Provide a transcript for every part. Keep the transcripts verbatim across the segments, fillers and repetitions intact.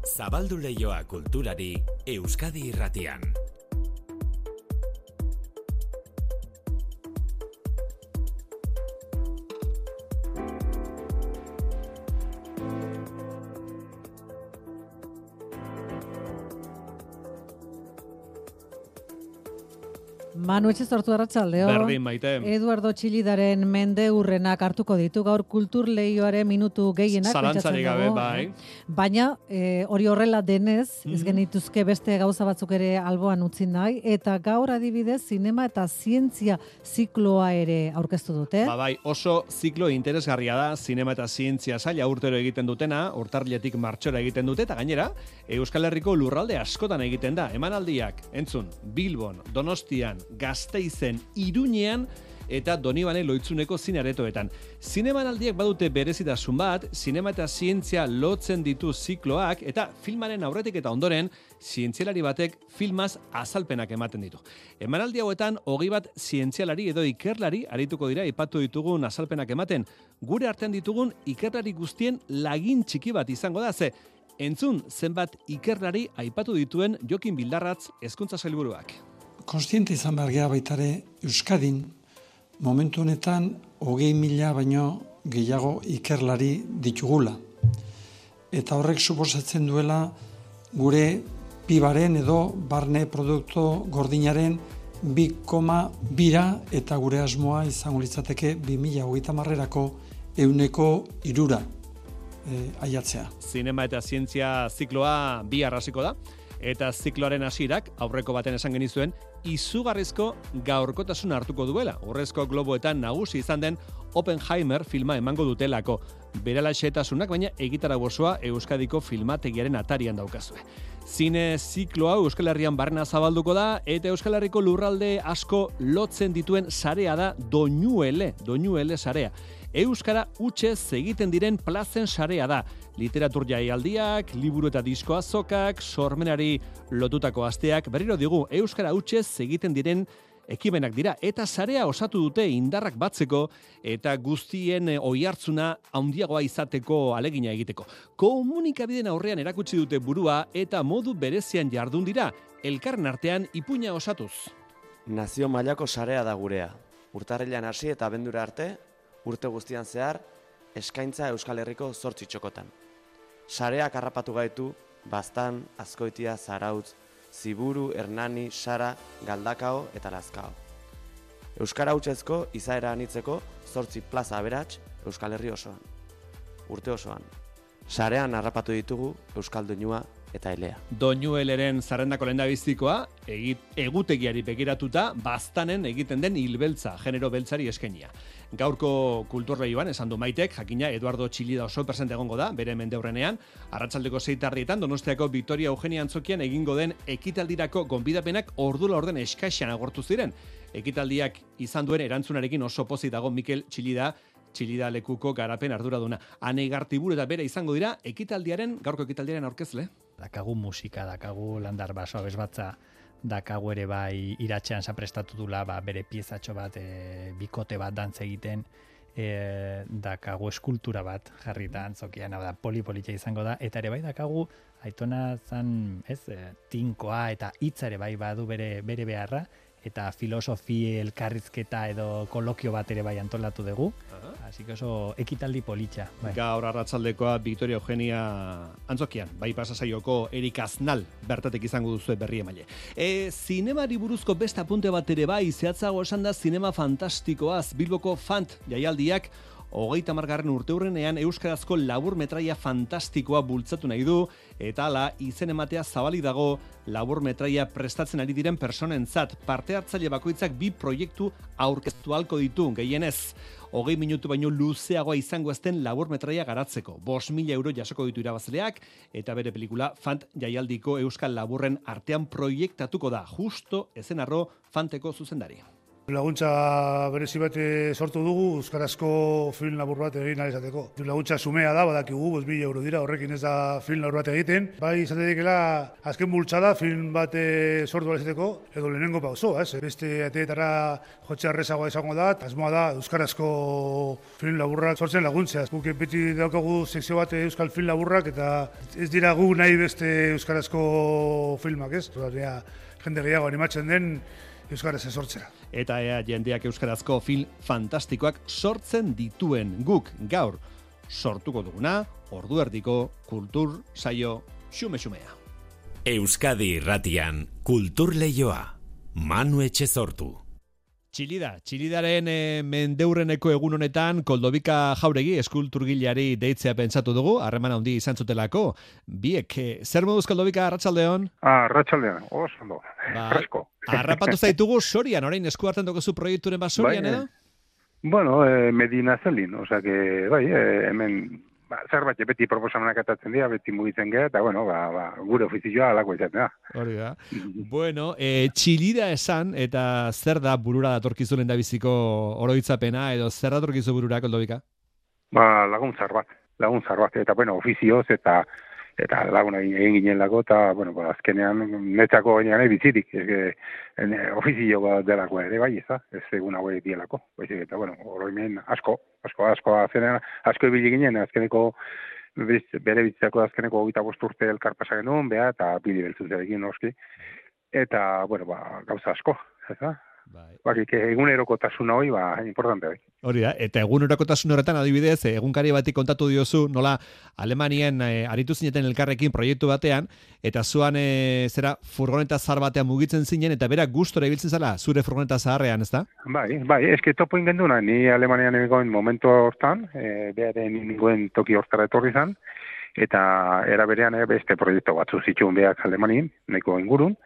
Zabaldu leioa kulturari Euskadi Irratian. Manu etxe sortu arratsaldeo. Berdin maite. Eduardo Txilidaren mende urrenak hartuko ditu gaur kultur leioaren minutu gehienak. Zalantzarik gabe, bai. Baina e, hori horrela denez, Mm. ez genituzke beste gauza batzuk ere alboan utzi nahi, eta gaur adibidez zinema eta zientzia zikloa ere aurkeztu dute. Ba, bai, oso ziklo interesgarria da, zinema eta zientzia saila urtero egiten dutena, urtarriletik martxora egiten dute, eta gainera, Euskal Herriko lurralde askotan egiten da. Emanaldiak, entzun, Bilbon, Donostian, Gasteizen, Iruñean eta Donibane Loitzuneko zinearetoetan. Zinemanaldiak badute berezitasun bat, zinema eta zientzia lotzen ditu zikloak, eta filmaren aurretik eta ondoren, zientzialari batek filmaz azalpenak ematen ditu. Emanaldi hauetan, hogei bat zientzialari edo ikerlari arituko dira ipatu ditugun azalpenak ematen. Gure artean ditugun ikerlari guztien lagin txiki bat izango da, ze entzun zenbat ikerlari aipatu dituen Jokin Bildarratz hezkuntza sailburuak. Konstiente izan behar geha baitare Euskadin, momentu honetan hogei mila baino gehiago ikerlari ditugula. Eta horrek suposatzen duela gure pibaren edo barne produktu gordinaren bi koma bira eta gure asmoa izango litzateke bi mila hogeita hamarrerako ehuneko hirura e, aiatzea. Zinema eta zientzia zikloa bi arrasiko da. Eta zikloaren hasierak aurreko baten esan genizuen izugarrizko gaurkotasun hartuko duela. Urrezko globoetan nagusi izan den Oppenheimer filma emango dutelako. Berala xehetasunak, baina egitarau osoa Euskadiko filmategiaren atarian daukazue. Zine ziklo hau Euskal Herrian barrena zabalduko da, eta Euskal Herriko lurralde asko lotzen dituen sarea da Doñuele, Doñuele sarea. Euskara hutsez egiten diren plazen sarea da. Literatur jaialdiak, liburu eta disko azokak, sormenari lotutako asteak, berriro digu, Euskara hutsez egiten diren ekimenak dira, eta sarea osatu dute indarrak batzeko, eta guztien oihartzuna handiagoa izateko alegina egiteko. Komunikabideen aurrean erakutsi dute burua, eta modu berezian jardun dira, elkarren artean ipuina osatuz. Nazio mailako sarea da gurea. Urtarrilean hasi eta abendura arte, urte guztian zehar, eskaintza Euskal Herriko zortzi txokotan. Sareak harrapatu gaitu, Baztan, Azkoitia, Zarautz, Ziburu, Hernani, Sara, Galdakao eta Lazkao. Euskara hutsezko izaera anitzeko zortzi plaza aberats Euskal Herri osoan. Urte osoan. Sarean harrapatu ditugu Euskal Doinua eta Elea. Doñueleren zerrendako lehendabizikoa, egutegiari begiratuta, Baztanen egiten den hilbeltza, genero beltzari eskenia. Gaurko kulturleioan esan du Maitek, jakina Eduardo Txilida oso presente egongo da, bere mendeurrenean, arratsaldeko seitarrietan Donostiako Victoria Eugenia Antzokian egingo den ekitaldirako gonbidapenak ordula orden eskaxean agortu ziren. Ekitaldiak izan duen erantzunarekin oso pozik dago Mikel Txilida, Txilida lekuko garapen arduraduna. Ane Gartiburu eta bere izango dira ekitaldiaren, gaurko ekitaldiaren aurkezle. Dakagu musika, dakagu landar basoa bezbatza, dakagu ere bai iratxean zaprestatu dula, ba, bere piezatxo bat, e, bikote bat dantza egiten, e, dakagu eskultura bat jarrita antzokian, da polipolitxa izango da, eta ere bai dakagu Aitona zan, ez, e, tinkoa eta hitza ere bai badu bere, bere beharra, eta filosofi elkarrizketa edo kolokio bat ere bai antolatu dugu. Así que oso ekitaldi politxa. Bai. Gaur arratsaldekoa Victoria Eugenia Antzokian, bai pasasaioko Erik Aznal bertatek izango duzu berri emaile. E, zinemari buruzko beste apunte bat ere bai, zehatzago esan da zinema fantastikoaz, Bilboko Fant jaialdiak hogeita hamargarren urteurrenean euskarazko labur metraia fantastikoa bultzatu nahi du, eta hala izen ematea zabalik dago labur metraia prestatzen ari diren personentzat. Parte hartzaile bakoitzak bi proiektu aurkeztu ahalko ditu, gehienez. Hogei minutu baino luzeagoa izango ezten labur metraia garatzeko. Bost mila euro jasoko ditu irabazleak, eta bere pelikula Fant jaialdiko euskal laburren artean proiektatuko da, justo ezen arro Fanteko zuzendari. Laguntza berezi bat sortu dugu, euskarazko film labur bat egin ahal izateko. Laguntza sumea da, badakigu, bost mila euro dira, horrekin ez da film labur bat egiten. Bai, izatetikela, azken bultzada film bat sortu ahal izateko, edo lehenengo pauso, ez? Beste ateetara jotxe arrezagoa izango da, asmoa da, euskarazko film laburrak sortzen laguntzea. Guk beti daukagu sekzio bat euskal film laburrak, eta ez dira gu nahi beste euskarazko filmak, ez? Zordea, jende gehiago animatzen den, euskaraz sortzea. Eta ea jendeak euskarazko film fantastikoak sortzen dituen guk gaur sortuko duguna, ordu erdiko kultur saio xume-xumea. Euskadi Irratian, kultur leioa, Manu Etxezortu. Txilida, Txilidaren e, mendeurreneko egun honetan Koldobika Jauregi eskulturgileari deitzea pentsatu dugu, harreman handi izan zutelako. Biek, e, zer moduz Koldobika, arratsaldeon? Ah, arratsaldeon, oso ondo, ba, fresko. Harrapatu zaitugu Sorian, orain esku hartzen dugu proiekturen bat Sorian, bai, edo? Bueno, eh, Medina Zelin, osea que, bai, eh, hemen ba, zerbait beti proposamenak atatzen dira, beti mugitzen gara, eta bueno, ba, ba, gure ofizioa alako izaten da. Hori da. Bueno, e, Txilida esan, eta zer da burura datorkizu lehendabiziko oroitzapena, edo zer datorkizu burura, Koldobika? Ba, laguntzar bat, laguntzar bat, eta bueno, ofizioz, eta eta laguna egin ginen lako, eta bueno, ba, azkenean netzako gainean bizirik, ez ofizio bat delako ere, bai, ez da, ez egun hauek dielako, baizik, eta bueno, oroimen asko, asko, asko, azkenean, asko ibili ginen, azkeneko bere bizitzako azkeneko hogeita bost urte elkar pasa genuen, beha, eta bili beltzuzarekin noski, eta, bueno, ba, gauza asko, ez da? Bai. Bakik, egunerokotasuna hori, ba, importante bai. Hori da, eta egunerokotasun horretan adibidez, egunkari bati kontatu diozu, nola Alemanien e, aritu zineten elkarrekin proiektu batean, eta zuan e, zera furgoneta zahar batean mugitzen zinen, eta berak gustora ibiltzen zala, zure furgoneta zaharrean, ez da? Bai, bai, eske topo ingenduna, ni Alemanian egoen momentu hortan, e, beharen ningoen toki hortara etorri zan, eta era berean e, beste proiektu batzu zituen behak Alemanien, nahiko ingurun,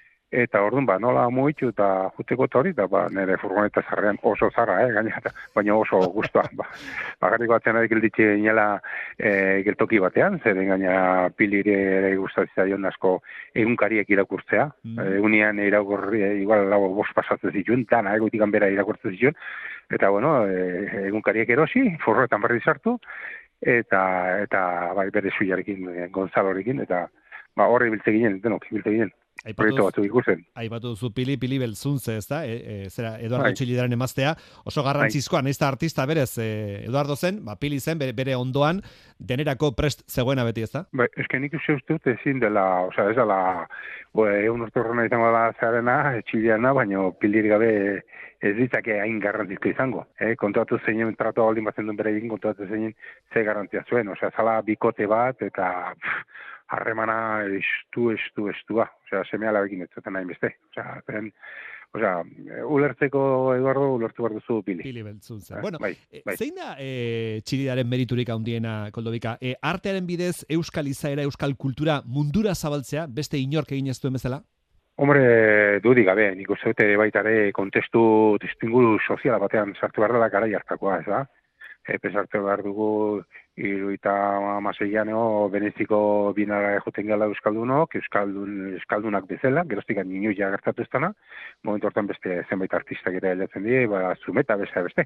eta orduan, ba, nola mugitu eta juteko eta hori, eta ba, nire furgoneta zarrean oso zarra, eh, gaina, baina oso guztua. Ba, bakarrik batzen ari gilditxe inela e, geltoki batean, zeren gaina pilire ere gustatzen zaion asko egunkariek irakurtzea. Mm. Egunean irakurri, e, igual lau bost pasatzen zituen, dana egoitikan bera irakurtzen zituen, eta bueno, e, egunkariek erosi, furgonetan berri sartu, eta, eta bai, bere zuiarekin, e, Gonzalorekin, eta ba, horre biltze ginen, denok, biltze ginen. Proiektu batzu ikusten. Aipatu duzu pili, pili beltzuntze, ez da? E, e, zera, Eduardo bai. Txilidaren emaztea, oso garrantzizkoa, nahiz da artista berez, e, Eduardo zen, ba, pili zen, bere, bere ondoan, denerako prest zegoena beti, ez da? Ba, eske nik uste dut ezin dela, osea, ez dela, egun urte horrena izango da zearena, Txiliana, baina pilir gabe ez ditzake hain garrantzizko izango. Eh? Kontuatu zeinen, trato aldin batzen duen bere egin, kontuatu zeinen ze garrantzia zuen, osea, zala bikote bat, eta pff, harremana estu, estu, estua. Osea, seme alabekin ez zuten nahi beste. Osea, zen, osea, ulertzeko, Eduardo, ulertu behar duzu pili. Pili beltzuntzen. Bueno, bai, bai. Zein da e, Txilidaren meriturik handiena, Koldobika? E, artearen bidez, euskal izaera, euskal kultura mundura zabaltzea, beste inork egin ez duen bezala? Hombre, dudik gabe, nik uste dute baitare kontestu testinguru soziala batean sartu behar dela garai hartakoa, ez da? E, pesartu behar dugu iruita amaseian ego Beneziko binara joten gala euskaldunok, euskaldun, euskaldunak bezala, geroztik ninu ja gertatu ez dana, momentu hortan beste zenbait artistak ere aldatzen die, ba, Zumeta beste beste.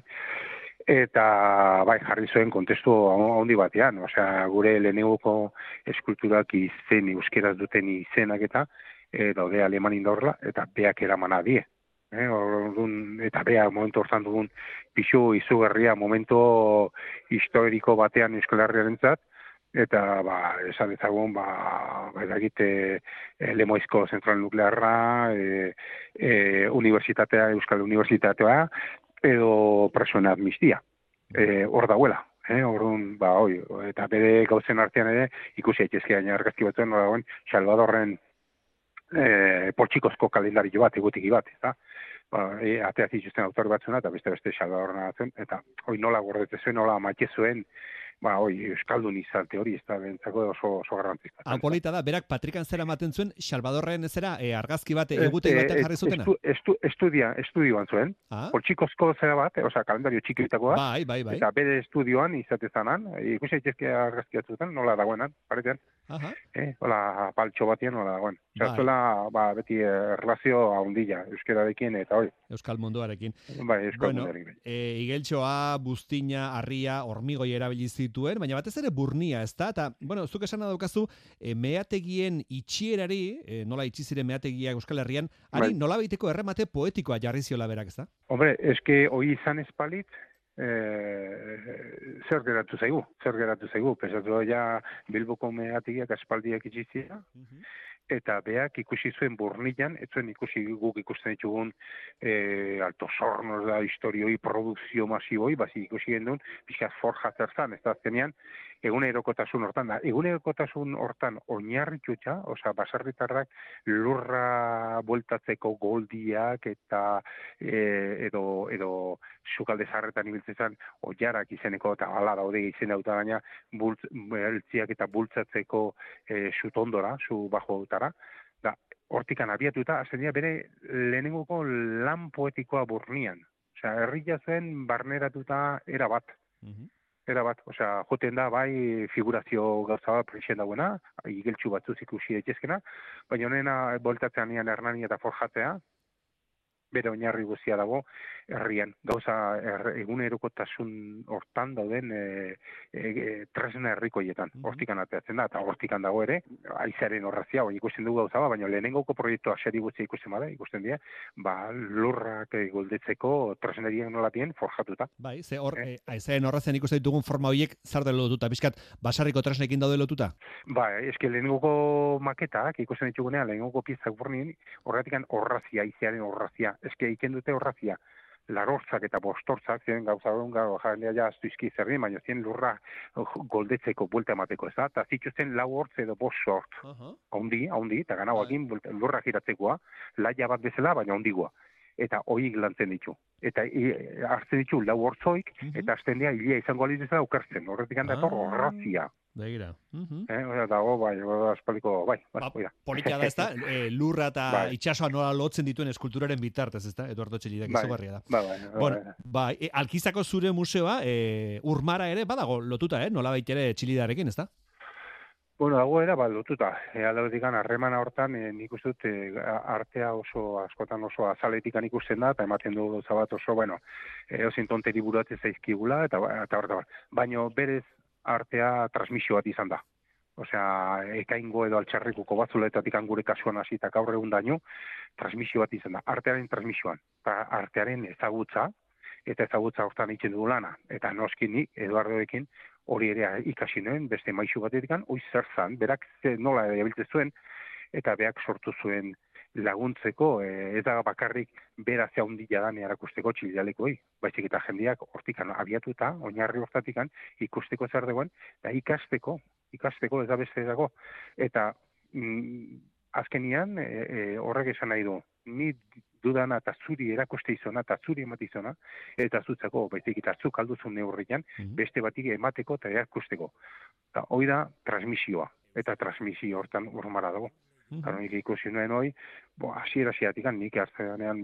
Eta bai, jarri zuen kontestu handi batean, osea, gure lehenegoko eskulturak izen, euskeraz duten izenak eta e, daude Alemanin daurla, eta beak eramana die. Eh, orduan, eta bea momentu hortan dugun pixu izugarria momentu historiko batean Euskal Herriarentzat, eta ba, esan ezagun ba, egite e, Lemoizko zentral nuklearra, e, e, universitatea, Euskal Universitatea, edo presoen amnistia. E, hor dauela. Eh, orduan, ba, oi, eta bere gauzen artean ere, ikusi aitezke gaina argazki batzuen, hor dagoen, Salvadorren e, potxikozko kalendario bat, egutiki bat, eta ba, e, atea zituzten autor batzuna, eta beste-beste Salvadorren atzen, eta hoi nola gordete zuen, nola maite zuen, ba, hoi, euskaldun izate hori, ez da, bentzako oso, oso garrantzizka. Apolita da, berak Patrikan zera ematen zuen, Salvadorren zera, e, argazki bat, egutegi batean jarri zutena? Estu, estu, estudia, estudioan zuen, ah? Poltsikozko zera bat, osea, kalendario txikitakoa, bai, bai, bai. Eta bere estudioan izate zanan, ikusi aitezke argazki batzuten, nola dagoenan, paretean. Eh, hola, paltxo batien, hola, bueno. Zertuela, ba, beti eh, relazio haundilla, euskerarekin eta hori. Euskal munduarekin. Bai, euskal bueno, munduarekin. E, igeltxoa, buztina, harria, hormigoi erabili zituen, baina batez ere burnia, ez da? Eta, bueno, zuk esan daukazu, e, meategien itxierari, e, nola itxi ziren meategiak Euskal Herrian, ari bai. Nola baiteko erremate poetikoa jarri ziola berak, ez da? Hombre, eske hoi izan espalit, Eh, zer geratu zaigu, zer geratu zaigu, pesatu ja Bilboko meategiak aspaldiak itxizia, uh-huh. Eta beak ikusi zuen burnian, ez zuen ikusi guk ikusten ditugun e, alto sornos da historioi, produkzio masiboi, bazi ikusi gendun, pixkat forja zerzan, ez da azkenean, egunerokotasun hortan da. Egunerokotasun hortan oinarritutxa, osea, baserritarrak lurra bueltatzeko goldiak eta e, edo, edo sukalde zarretan ibiltzen oiarak izeneko, eta ala daude izen dauta baina, beltziak eta bultzatzeko e, sutondora, su bajo da, hortikan abiatuta, azenia bere lehenengoko lan poetikoa burnian. Osea, herria zen barneratuta era bat. Uh-huh. Era bat, osea, joten da, bai, figurazio gauza bat prexen dauena, igeltxu batzuz ikusi daitezkena, baina honena boltatzean nian Hernani eta forjatzea, bere oinarri guztia dago herrian. Gauza er, egunerokotasun hortan dauden e, e, e, tresna herrikoietan. Mm-hmm. Hortikan ateatzen da, eta hortikan dago ere, aizaren horrazia, hori ikusten dugu gauza ba, baina lehenengoko proiektua seri guztia ikusten bada, ikusten dira, ba, lurrak goldetzeko tresneriak nolatien forjatuta. Bai, ze hor, eh? aizaren horrazen ikusten ditugun forma horiek zar dela lotuta, bizkat, basarriko tresnekin daude lotuta? Ba, eske lehenengoko maketak ikusten ditugunean, lehenengoko piezak burnin, horretikan horrazia, aizaren horrazia. Eske iken dute horrazia, larortzak eta bostortzak, ziren gauza duen gau jendea ja astuizki zerri, baina ziren lurra goldetzeko, buelta emateko, ez da? Eta zituzten lau hortz edo bost sort. Haundi, uh-huh. haundi, eta ganauakin uh-huh. lurra giratzekoa, laia bat bezala, baina hondigua. Eta hoik lantzen ditu. Eta e, hartzen ditu lau hortzoik, uh-huh. eta azten dira, hilia izango alitzela ukertzen. Horretik handa etor horrazia. Begira. Uh-huh. Eh, dago, bai, aspaliko, bai. Ba, politia da, ez da? E, lurra eta bai. Itxasoa nola lotzen dituen eskulturaren bitartez, ez da? Eduardo Txelidak bai. Izugarria da. Bai, bai, bai. Bueno, bai, e, Alkizako zure museoa, e, Urmara ere, badago lotuta, eh? Nola baitere Txilidarekin, ez da? Bueno, dago era, bat lotuta. E, Aldeutikan, harremana hortan, e, nik uste dut, e, artea oso, askotan oso azaletikan ikusten da, eta ematen du gauza bat oso, bueno, e, ozin tonteri buratzen zaizkigula, eta eta horta bat. Baina berez artea transmisio bat izan da. Osea, ekaingo edo altxarrikuko batzuletatik gure kasuan hasi eta gaur egun daño, transmisio bat izan da. Artearen transmisioan, eta artearen ezagutza, eta ezagutza hortan itzen du lana. Eta noski ni, Eduardoekin, hori ere ikasi nuen, beste maisu batetik, hoi zer zan, berak nola erabiltzen zuen, eta berak sortu zuen laguntzeko, ez da bakarrik bera ze handia da erakusteko txilialekoi, baizik eta jendeak hortikan abiatuta, oinarri hortatikan, ikusteko zer dagoen, eta ikasteko, ikasteko ez da beste dago. Eta mm, azkenian e, e, horrek esan nahi du, ni dudana eta zuri erakuste izona, eta zuri emate izona, eta zutzako, baizik eta zuk alduzun neurrian, mm-hmm. beste batik emateko eta erakusteko. Eta hoi da transmisioa, eta transmisio hortan Urmara dago. Mm-hmm. Karo, nik ikusi nuen hoi, bo, asiera asiatikan, nik hartzeanean,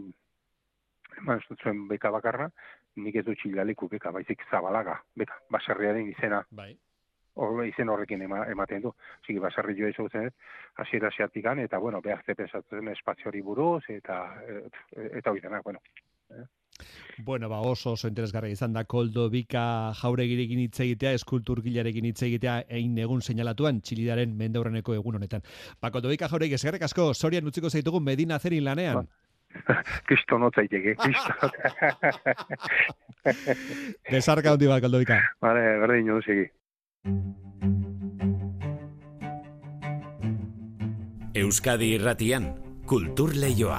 eman zuen beka bakarra, nik ez du txilaleku beka, baizik Zabalaga, beka, baserriaren izena. Bai. Hor, izen horrekin ema, ematen du. Zigi, baserri joa izagutzen ez, asiera asiatikan, eta, bueno, behar zepesatzen espazio hori buruz, eta, eta hori denak, bueno. Eh? Bueno, ba, oso oso interesgarria izan da Koldo Bika Jauregirekin hitz egitea, eskulturgilarekin hitz egitea, egin egun seinalatuan Txilidaren mendeurreneko egun honetan. Ba, Koldo Bika Jauregi, eskerrik asko, Sorian utziko zaitugu Medina Zerin lanean. Ba. Kristo notzaiteke, kristo. Desarka hundi bat, Koldo Bika. Vale, berdin, joan segi. Euskadi Irratian, Kultur Leioa.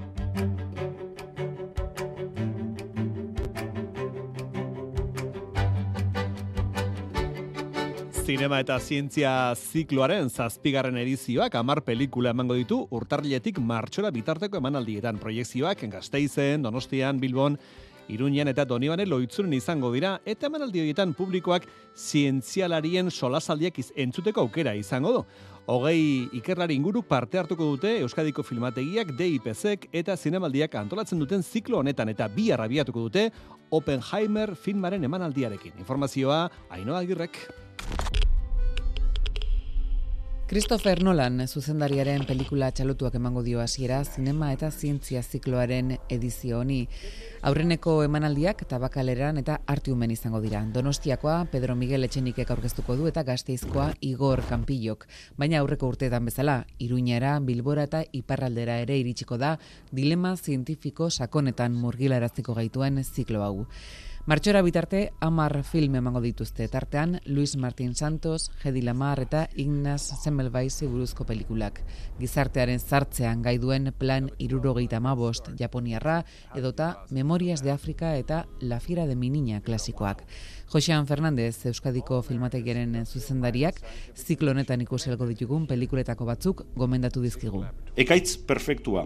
Zinema eta zientzia zikloaren zazpigarren edizioak hamar pelikula emango ditu urtarriletik martxora bitarteko emanaldietan. Proiekzioak Gasteizen, Donostian, Bilbon, Iruñan eta Donibane Loitzuren izango dira, eta emanaldi horietan publikoak zientzialarien solasaldiak entzuteko aukera izango du. Hogei ikerlari inguruk parte hartuko dute Euskadiko Filmategiak, D I P Z eta zinemaldiak antolatzen duten ziklo honetan, eta bi arrabiatuko dute Oppenheimer filmaren emanaldiarekin. Informazioa, Ainhoa Agirrek. Christopher Nolan zuzendariaren pelikula txalotuak emango dio hasiera zinema eta zientzia zikloaren edizio honi. Aurreneko emanaldiak Tabakaleran eta Artiumen izango dira. Donostiakoa Pedro Miguel Etxenikek aurkeztuko du eta Gasteizkoa Igor Kanpillok. Baina aurreko urteetan bezala, Iruñara, Bilbora eta Iparraldera ere iritsiko da dilema zientifiko sakonetan murgilaraziko gaituen ziklo hau. Martxora bitarte, hamar film emango dituzte, tartean Luis Martín Santos, Hedy Lamarr eta Ignaz Semmelweisi buruzko pelikulak. Gizartearen zartzean gai duen Plan hirurogeita hamabost Japoniarra, edota Memorias de Afrika eta La Fiera de mi niña klasikoak. Josean Fernández, Euskadiko filmategiaren zuzendariak, ziklo honetan ikuselgo ditugun pelikuletako batzuk gomendatu dizkigu. Ekaitz perfektua.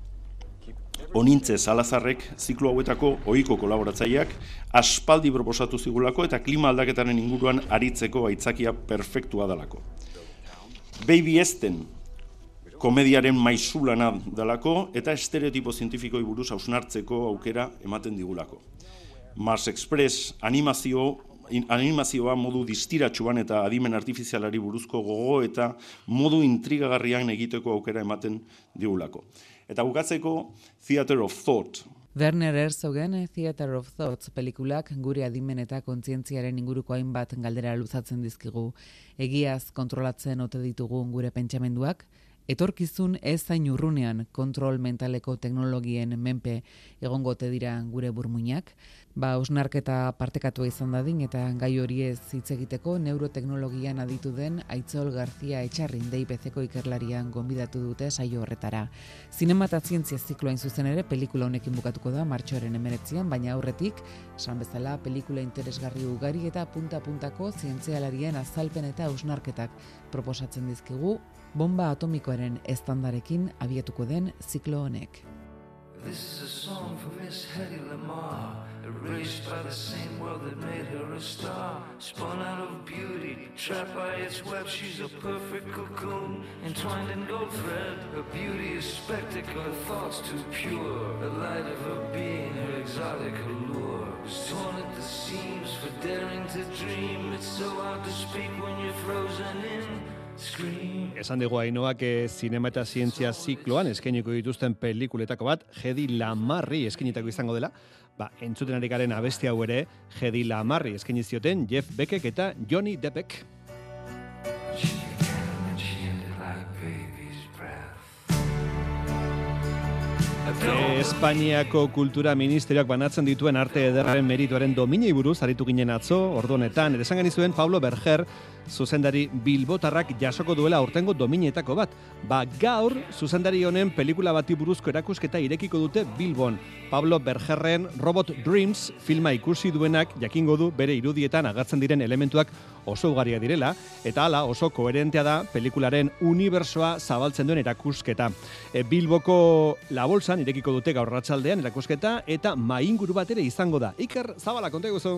Onintze Salazarrek ziklo hauetako ohiko kolaboratzaileak aspaldi proposatu zigulako eta klima aldaketaren inguruan aritzeko aitzakia perfektua dalako. Baby Esten komediaren maizulana dalako eta estereotipo zientifikoi buruz hausnartzeko aukera ematen digulako. Mars Express animazio animazioa modu distiratsuan eta adimen artifizialari buruzko gogo eta modu intrigagarrian egiteko aukera ematen digulako. Eta bukatzeko Theater of Thought. Werner Herzogen Theater of Thoughts pelikulak gure adimen eta kontzientziaren inguruko hainbat galdera luzatzen dizkigu. Egiaz kontrolatzen ote ditugun gure pentsamenduak? Etorkizun ez zain urrunean kontrol mentaleko teknologien menpe egongo ote dira gure burmuinak? Ba, hausnarketa partekatua izan dadin eta gai hori ez hitz egiteko neuroteknologian aditu den Aitzol Garzia Etxarrin D I P C-ko ikerlarian gonbidatu dute saio horretara. Zinema eta zientzia zikloain zuzen ere pelikula honekin bukatuko da martxoaren hemeretzian, baina aurretik, esan bezala pelikula interesgarri ugari eta punta-puntako zientzialarien azalpen eta hausnarketak proposatzen dizkigu, bomba atomikoaren estandarekin abiatuko den ziklo honek. This is a song for Miss Hedy Lamarr, erased by the same world that made her a star. Spun out of beauty, trapped by its web, she's a perfect cocoon, entwined in gold thread. Her beauty is spectacle, her thoughts too pure. The light of her being, her exotic allure, was torn at the seams for daring to dream. It's so hard to speak when you're frozen in. Esan dugu Ainoak zinema eta zientzia zikloan eskainiko dituzten pelikuletako bat Hedy Lamarri eskainitako izango dela. Ba, entzuten ari garen abesti hau ere Hedy Lamarri eskaini zioten Jeff Beckek eta Johnny Deppek. Espainiako Kultura Ministerioak banatzen dituen arte ederraren merituaren dominei buruz aritu ginen atzo, ordu honetan, ere esan genizuen Pablo Berger, zuzendari bilbotarrak jasoko duela aurtengo dominetako bat. Ba, gaur, zuzendari honen pelikula bati buruzko erakusketa irekiko dute Bilbon. Pablo Bergerren Robot Dreams filma ikusi duenak jakingo du bere irudietan agertzen diren elementuak oso ugariak direla, eta hala oso koherentea da pelikularen unibersoa zabaltzen duen erakusketa. E, Bilboko La Bolsan irekiko dute gaur arratsaldean erakusketa eta mainguru bat ere izango da. Iker Zabala, konta eguzu.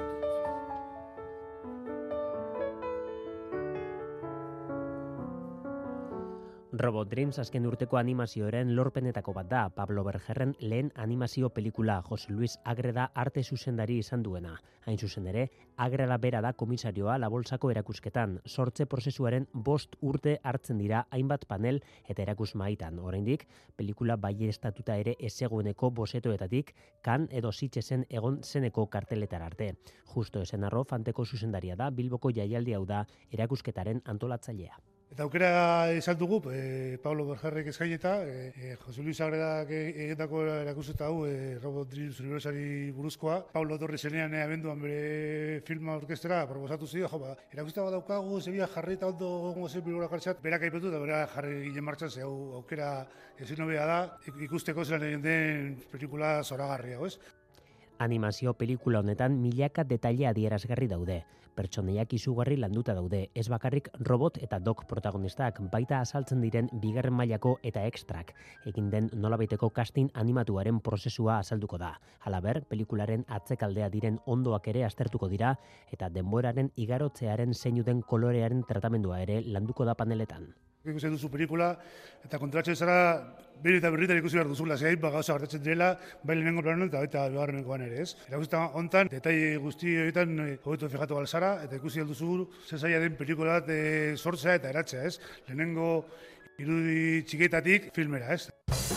Robot Dreams azken urteko animazioaren lorpenetako bat da. Pablo Bergerren lehen animazio pelikula, Jose Luis Agreda arte zuzendari izan duena. Hain zuzen ere, Agreda bera da komisarioa La Bolsako erakusketan. Sortze prozesuaren bost urte hartzen dira hainbat panel eta erakus maitan. Oraindik, pelikula baieztatuta ere ezegoeneko bosetoetatik, kan edo Sitgesen egon zeneko karteletar arte. Justo esen arro, Fanteko zuzendaria da, Bilboko jaialdi hau da erakusketaren antolatzailea. Eta aukera izan dugu, e, Pablo Bergerrek eskaineta, e, e, Jose Luis Agredak egindako erakusketa hau, e, Robot Dreams unibertsari buruzkoa. Pablo Torres zenean e, abenduan bere filma orkestera proposatu zio, jo, ba, erakusketa bat daukagu, zebia jarri eta ondo gongo zen bilbora kartxat, berak aipetu eta berak jarri ginen martxan, ze hau aukera ezin hobea da, ikusteko zelan egin den pelikula zoragarria, ez? Animazio pelikula honetan milaka detaile adierazgarri daude. Pertsoneiak izugarri landuta daude, ez bakarrik robot eta dog protagonistak, baita azaltzen diren bigarren mailako eta ekstrak. Egin den nolabaiteko casting animatuaren prozesua azalduko da. Halaber, pelikularen atzekaldea diren ondoak ere aztertuko dira, eta denboraren igarotzearen zeinu den kolorearen tratamendua ere landuko da paneletan. ikusten duzu pelikula, eta kontratzen zara, berri eta berritan ikusi behar duzula, zein, ba, gauza gertatzen direla, bai lehenengo planon eta baita bigarrenekoan ere, ez? Erakusten hontan, detai guzti horietan hobeto fijatu balzara, eta ikusi alduzu zezaia den pelikula bat e, sortzea eta eratzea, ez? Lehenengo irudi txiketatik filmera, ez?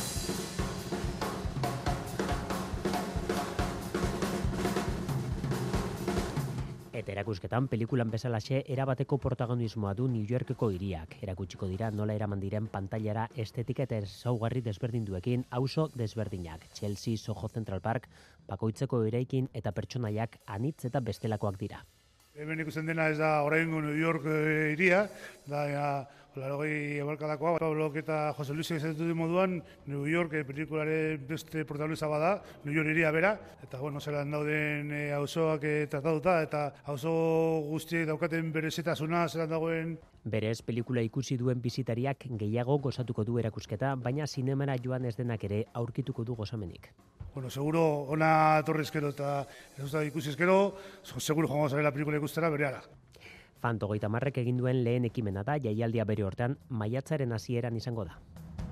Eta erakusketan pelikulan bezalaxe erabateko protagonismoa du New Yorkeko hiriak. Erakutsiko dira nola eraman diren pantailara estetika eta ezaugarri desberdinduekin auzo desberdinak. Chelsea, Soho Central Park, bakoitzeko eraikin eta pertsonaiak anitz eta bestelakoak dira. Hemen ikusten dena ez da oraingo New York hiria, da ja, larogei abarkadakoa, Pablok eta Jose Luis egizetu du moduan, New York e, pelikularen beste protagonista bada, New York hiria bera, eta bueno, zelan dauden e, auzoak e, tratatuta, eta auzo guztiek daukaten berezitasuna zelan dagoen. Berez, pelikula ikusi duen bisitariak gehiago gozatuko du erakusketa, baina zinemara joan ez denak ere aurkituko du gozamenik. Bueno, seguro ona torrezkero eta ez da ikusi ezkero, seguro joango zarela pelikula ikustera berehala. Fant hogeita hamarrek egin duen lehen ekimena da, jaialdia bere hortean maiatzaren hasieran izango da.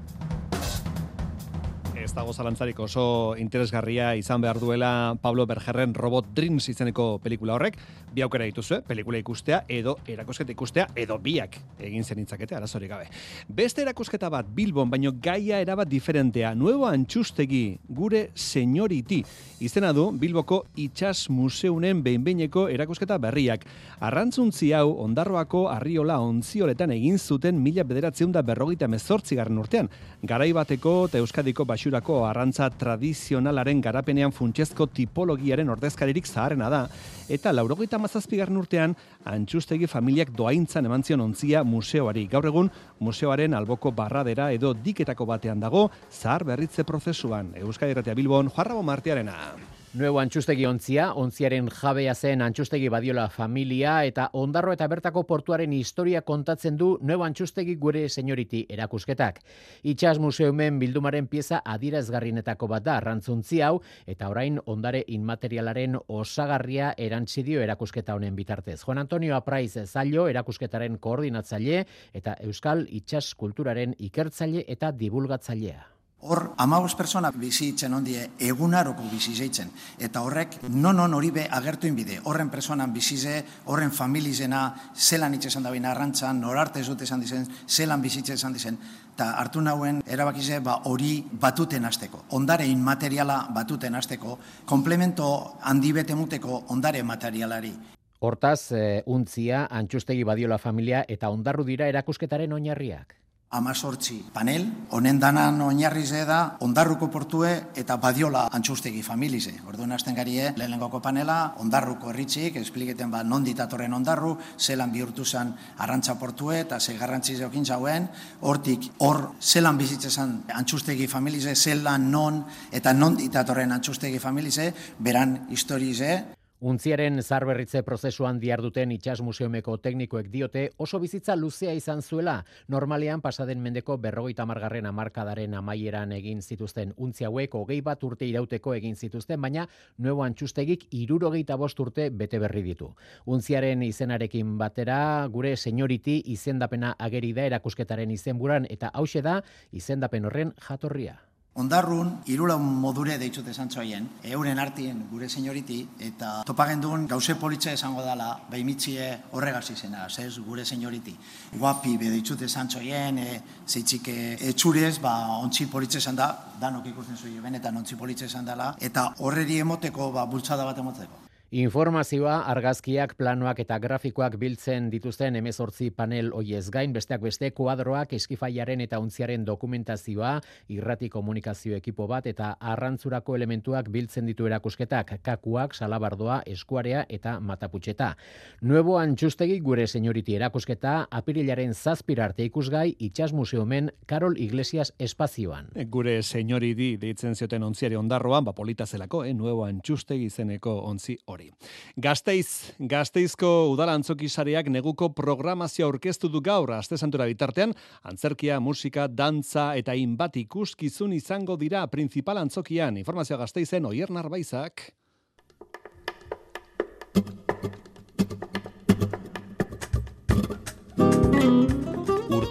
Ez dago zalantzarik oso interesgarria izan behar duela Pablo Bergerren Robot Dreams izeneko pelikula horrek. Bi aukera dituzue, pelikula ikustea edo erakusketa ikustea edo biak egin zenitzakete, arazorik gabe. Beste erakusketa bat Bilbon, baino gaia erabat diferentea. Nuevo Antxustegi, gure senyoriti. Izena du Bilboko Itsas Museunen behinbeineko erakusketa berriak. Arrantzuntzi hau Ondarroako Arriola ontzioletan egin zuten mila bederatziehun eta berrogeita hemezortzigarren urtean. Garai bateko eta Euskadiko Baxurako arrantza tradizionalaren garapenean funtsezko tipologiaren ordezkaririk zaharrena da, eta laurogeita hamazazpigarren urtean Antxustegi familiak doaintzan eman zion ontzia museoari. Gaur egun museoaren alboko barradera edo diketako batean dago zahar berritze prozesuan. Euskadi Irratia Bilbon, Juan Ramon Martiarena. Nuevo Antxustegi ontzia, ontziaren jabea zen Antxustegi Badiola familia eta Ondarro eta bertako portuaren historia kontatzen du Nuevo Antxustegi gure senyoriti erakusketak. Itsas Museumen bildumaren pieza adierazgarrienetako bat da arrantzuntzi hau eta orain ondare inmaterialaren osagarria erantzidio erakusketa honen bitartez. Juan Antonio Apraiz Zailo erakusketaren koordinatzaile eta Euskal Itsas kulturaren ikertzaile eta divulgatzailea. Hor, amabos persona bizitzen ondie egunaroko bizizeitzen. Eta horrek, non-non hori be agertu inbide. Horren personan bizize, horren familizena, zelan itxesan da bina arrantzan, norarte ez dute esan dizen, zelan bizitze esan dizen. Eta hartu nauen, erabakize, ba, hori batuten hasteko. Ondare inmateriala batuten hasteko, komplemento handi bete muteko ondare materialari. Hortaz, e, untzia, Antxustegi Badiola familia eta Ondarru dira erakusketaren oinarriak. Amazortzi panel, honen danan oinarrize da Ondarruko portue eta Badiola Antxustegi familize. Orduan hasten garie, lehenengoko panela, Ondarruko herritzik, espliketen ba non ditatorren Ondarru, zelan bihurtu zen arrantza portue eta ze garrantzi zeokin zauen, hortik hor zelan bizitzezan Antxustegi familize, zelan non eta non ditatorren Antxustegi familize, beran historize. Untziaren zarberritze prozesuan diharduten Itsas Museumeko teknikoek diote oso bizitza luzea izan zuela. Normalean pasaden mendeko berrogeita hamargarren hamarkadaren amaieran egin zituzten untzi hauek hogei bat urte irauteko egin zituzten, baina Nuevo Antxustegik hirurogeita bost urte bete berri ditu. Untziaren izenarekin batera gure senyoriti izendapena ageri da erakusketaren izenburan eta hauxe da izendapen horren jatorria. Ondarrun, irulaun modure deitzute zantzoaien, euren artien gure senyoriti, eta topagendun gauze politxe esango dela, behimitzie horregaz izena, zez, gure senyoriti. Guapi be deitzute zantzoaien, e, zeitzik etxurez, ba, ontsi politxe esan da, danok ikusten zuen benetan ontsi politxe esan dela, eta horreri emoteko, ba, bultzada bat emoteko. Informazioa, argazkiak, planoak eta grafikoak biltzen dituzten hemezortzi panel hoiez gain, besteak beste kuadroak, eskifaiaren eta untziaren dokumentazioa, irrati komunikazio ekipo bat eta arrantzurako elementuak biltzen ditu erakusketak, kakuak, salabardoa, eskuarea eta mataputxeta. Nuevo Antxustegi gure senyoriti erakusketa, apirilaren zazpira arte ikusgai, Itsas Museumen Karol Iglesias espazioan. Gure senyoriti deitzen zioten ontziari Ondarroan, ba polita zelako, eh? Nuevo Antxustegi izeneko ontzi hori. Gasteiz, Gasteizko udala antzoki sareak neguko programazioa aurkeztu du gaur aste santura bitartean, antzerkia, musika, dantza eta hainbat ikuskizun izango dira principal antzokian. Informazioa Gasteizen Oier Narbaizak.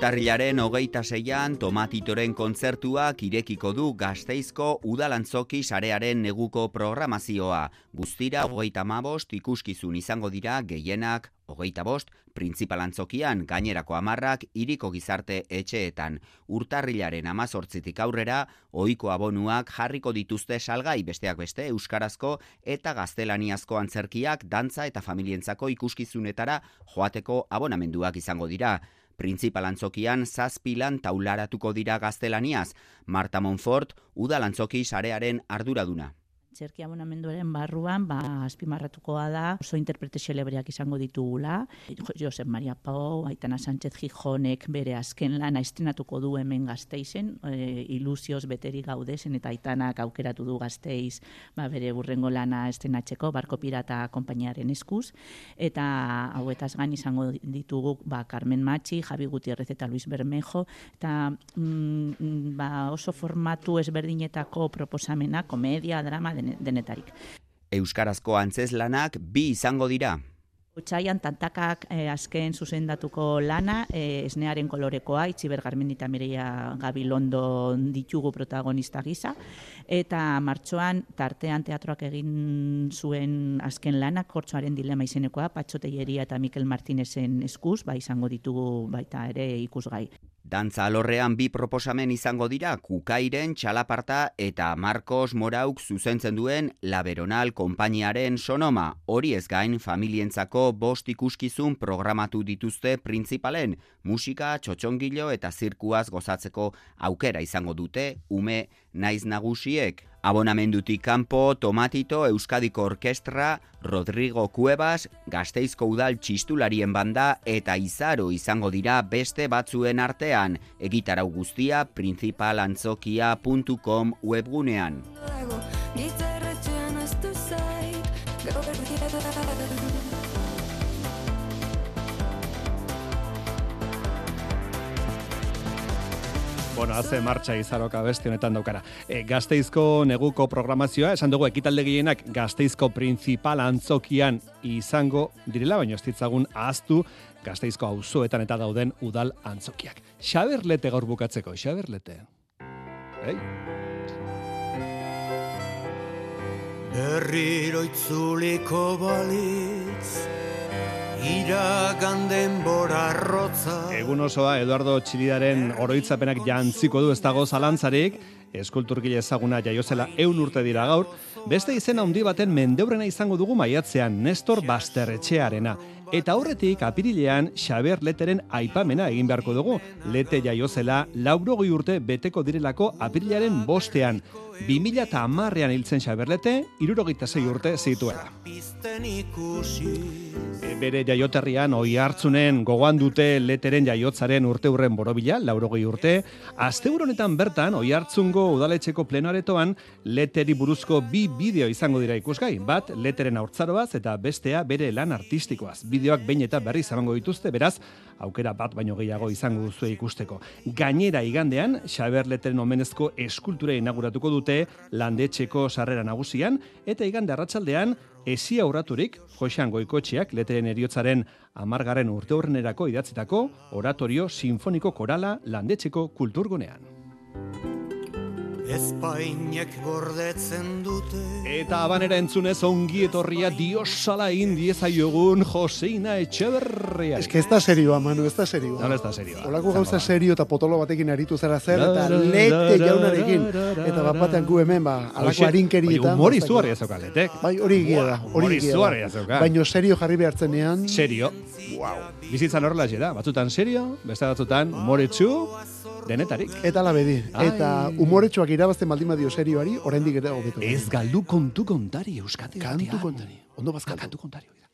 Urtarrilaren hogeita seian Tomatitoren kontzertuak irekiko du Gasteizko udalantzoki sarearen neguko programazioa. Guztira hogeita hamabost ikuskizun izango dira, gehienak hogeita bost, printzipal antzokian, gainerako hamarrak hiriko gizarte etxeetan. Urtarrilaren hamazortzitik aurrera, ohiko abonuak jarriko dituzte salgai, besteak beste euskarazko eta gaztelaniazko antzerkiak, dantza eta familientzako ikuskizunetara joateko abonamenduak izango dira. Printzipal antzokian zazpilan taularatuko dira gaztelaniaz. Marta Monfort, udalantzoki sarearen arduraduna. Antzerki abonamenduaren barruan, ba, azpimarratukoa da, oso interprete xelebreak izango ditugula. Josep Maria Pau, Aitana Sánchez Gijonek bere azken lana estrenatuko du hemen Gasteizen, e, ilusioz beteri gaudezen eta Aitanak aukeratu du Gasteiz ba, bere burrengo lana estrenatzeko, Barko Pirata konpainiaren eskuz. Eta hauetaz gain izango ditugu ba, Carmen Machi, Javi Gutierrez eta Luis Bermejo, eta mm, ba, oso formatu ezberdinetako proposamena, komedia, drama, denetarik. Euskarazko antzeslanak bi izango dira. Otsaian tantakak eh, azken zuzendatuko lana, eh, esnearen kolorekoa, Itziber Garmendi eta Mireia Gabilondo ditugu protagonista gisa, eta martxoan tartean teatroak egin zuen azken lana, Kortxoaren dilema izenekoa, Patxo Telleria eta Mikel Martinezen eskuz, ba izango ditugu baita ere ikusgai. Dantza alorrean bi proposamen izango dira, Kukairen Txalaparta eta Marcos Morauk zuzentzen duen La Veronal konpainiaren Sonoma. Horiez gain, familientzako bost ikuskizun programatu dituzte printzipalen, musika, txotxongilo eta zirkuaz gozatzeko aukera izango dute ume naiz nagusiek. Abonamendutik kanpo, Tomatito, Euskadiko Orkestra, Rodrigo Cuevas, Gasteizko Udal Txistularien banda eta Izaro izango dira beste batzuen artean. Egitarau guztia principalantzokia puntu com webgunean. Bueno, haze martxa Izaroka beste honetan daukara. E, Gasteizko neguko programazioa, esan dugu ekitalde gehienak Gasteizko printzipal antzokian izango direla, baina ez ditzagun ahaztu Gasteizko auzoetan eta dauden udal antzokiak. Xaberlete gaur bukatzeko, Xaberlete. Ei? Berriro itzuliko balitz, iragan denbora rotza. Egun osoa Eduardo Txilidaren oroitzapenak jantziko du ez dago zalantzarik, eskulturgile ezaguna jaiozela ehun urte dira gaur, beste izena handi baten mendeurrena izango dugu maiatzean, Nestor Basterretxearena. Eta aurretik apirilean Xaber Leteren aipamena egin beharko dugu. Lete jaiozela laurogei urte beteko direlako apirilaren bostean. bi mila hamarrean hiltzen Xaber Lete, hirurogeita sei urte zituela. E, bere jaioterrian Oihartzunen gogoan dute Leteren jaiotzaren urteurren borobila, laurogei urte. Asteburu honetan bertan Oihartzungo udaletxeko plenoaretoan Leteri buruzko bi bideo izango dira ikusgai. Bat Leteren haurtzaroaz eta bestea bere lan artistikoaz. Bideoak behin eta berri zamango dituzte, beraz, aukera bat baino gehiago izango duzue ikusteko. Gainera igandean, Xaber Leteren omenezko eskultura inauguratuko dute landetxeko sarrera nagusian, eta igande arratsaldean esi aurraturik Joxean Goikotxeak Leteren heriotzaren hamargarren urteurrenerako idatzitako oratorio sinfoniko korala landetxeko kulturgunean. Espainek gordetzen dute. Eta abanera entzunez ongi etorria diosala indiezaiogun Joseina Etxeberria. Ez que ez da serioa, Manu, ez da serioa. No, ez da serioa. Olako gauza serio eta potolo batekin aritu zara zer, eta Lete jaunarekin. Eta bat batean gu hemen, ba, alako harinkerietan. Humor izugarria zauka, Letek. Bai, hori egia da. Humor izugarria zauka. Baina serio jarri behartzenean. Serio. Wow. Bizitzan horrela da. Batzutan serio, beste batzutan humoretsu, denetarik. Eta la bedi. Eta humoretsuak irabazten baldin badio serioari, oraindik ere hobeto. Ez galdu kontu kontari, Euskadi. Kantu kontari. Ondo bazkaldu. Kantu kontari.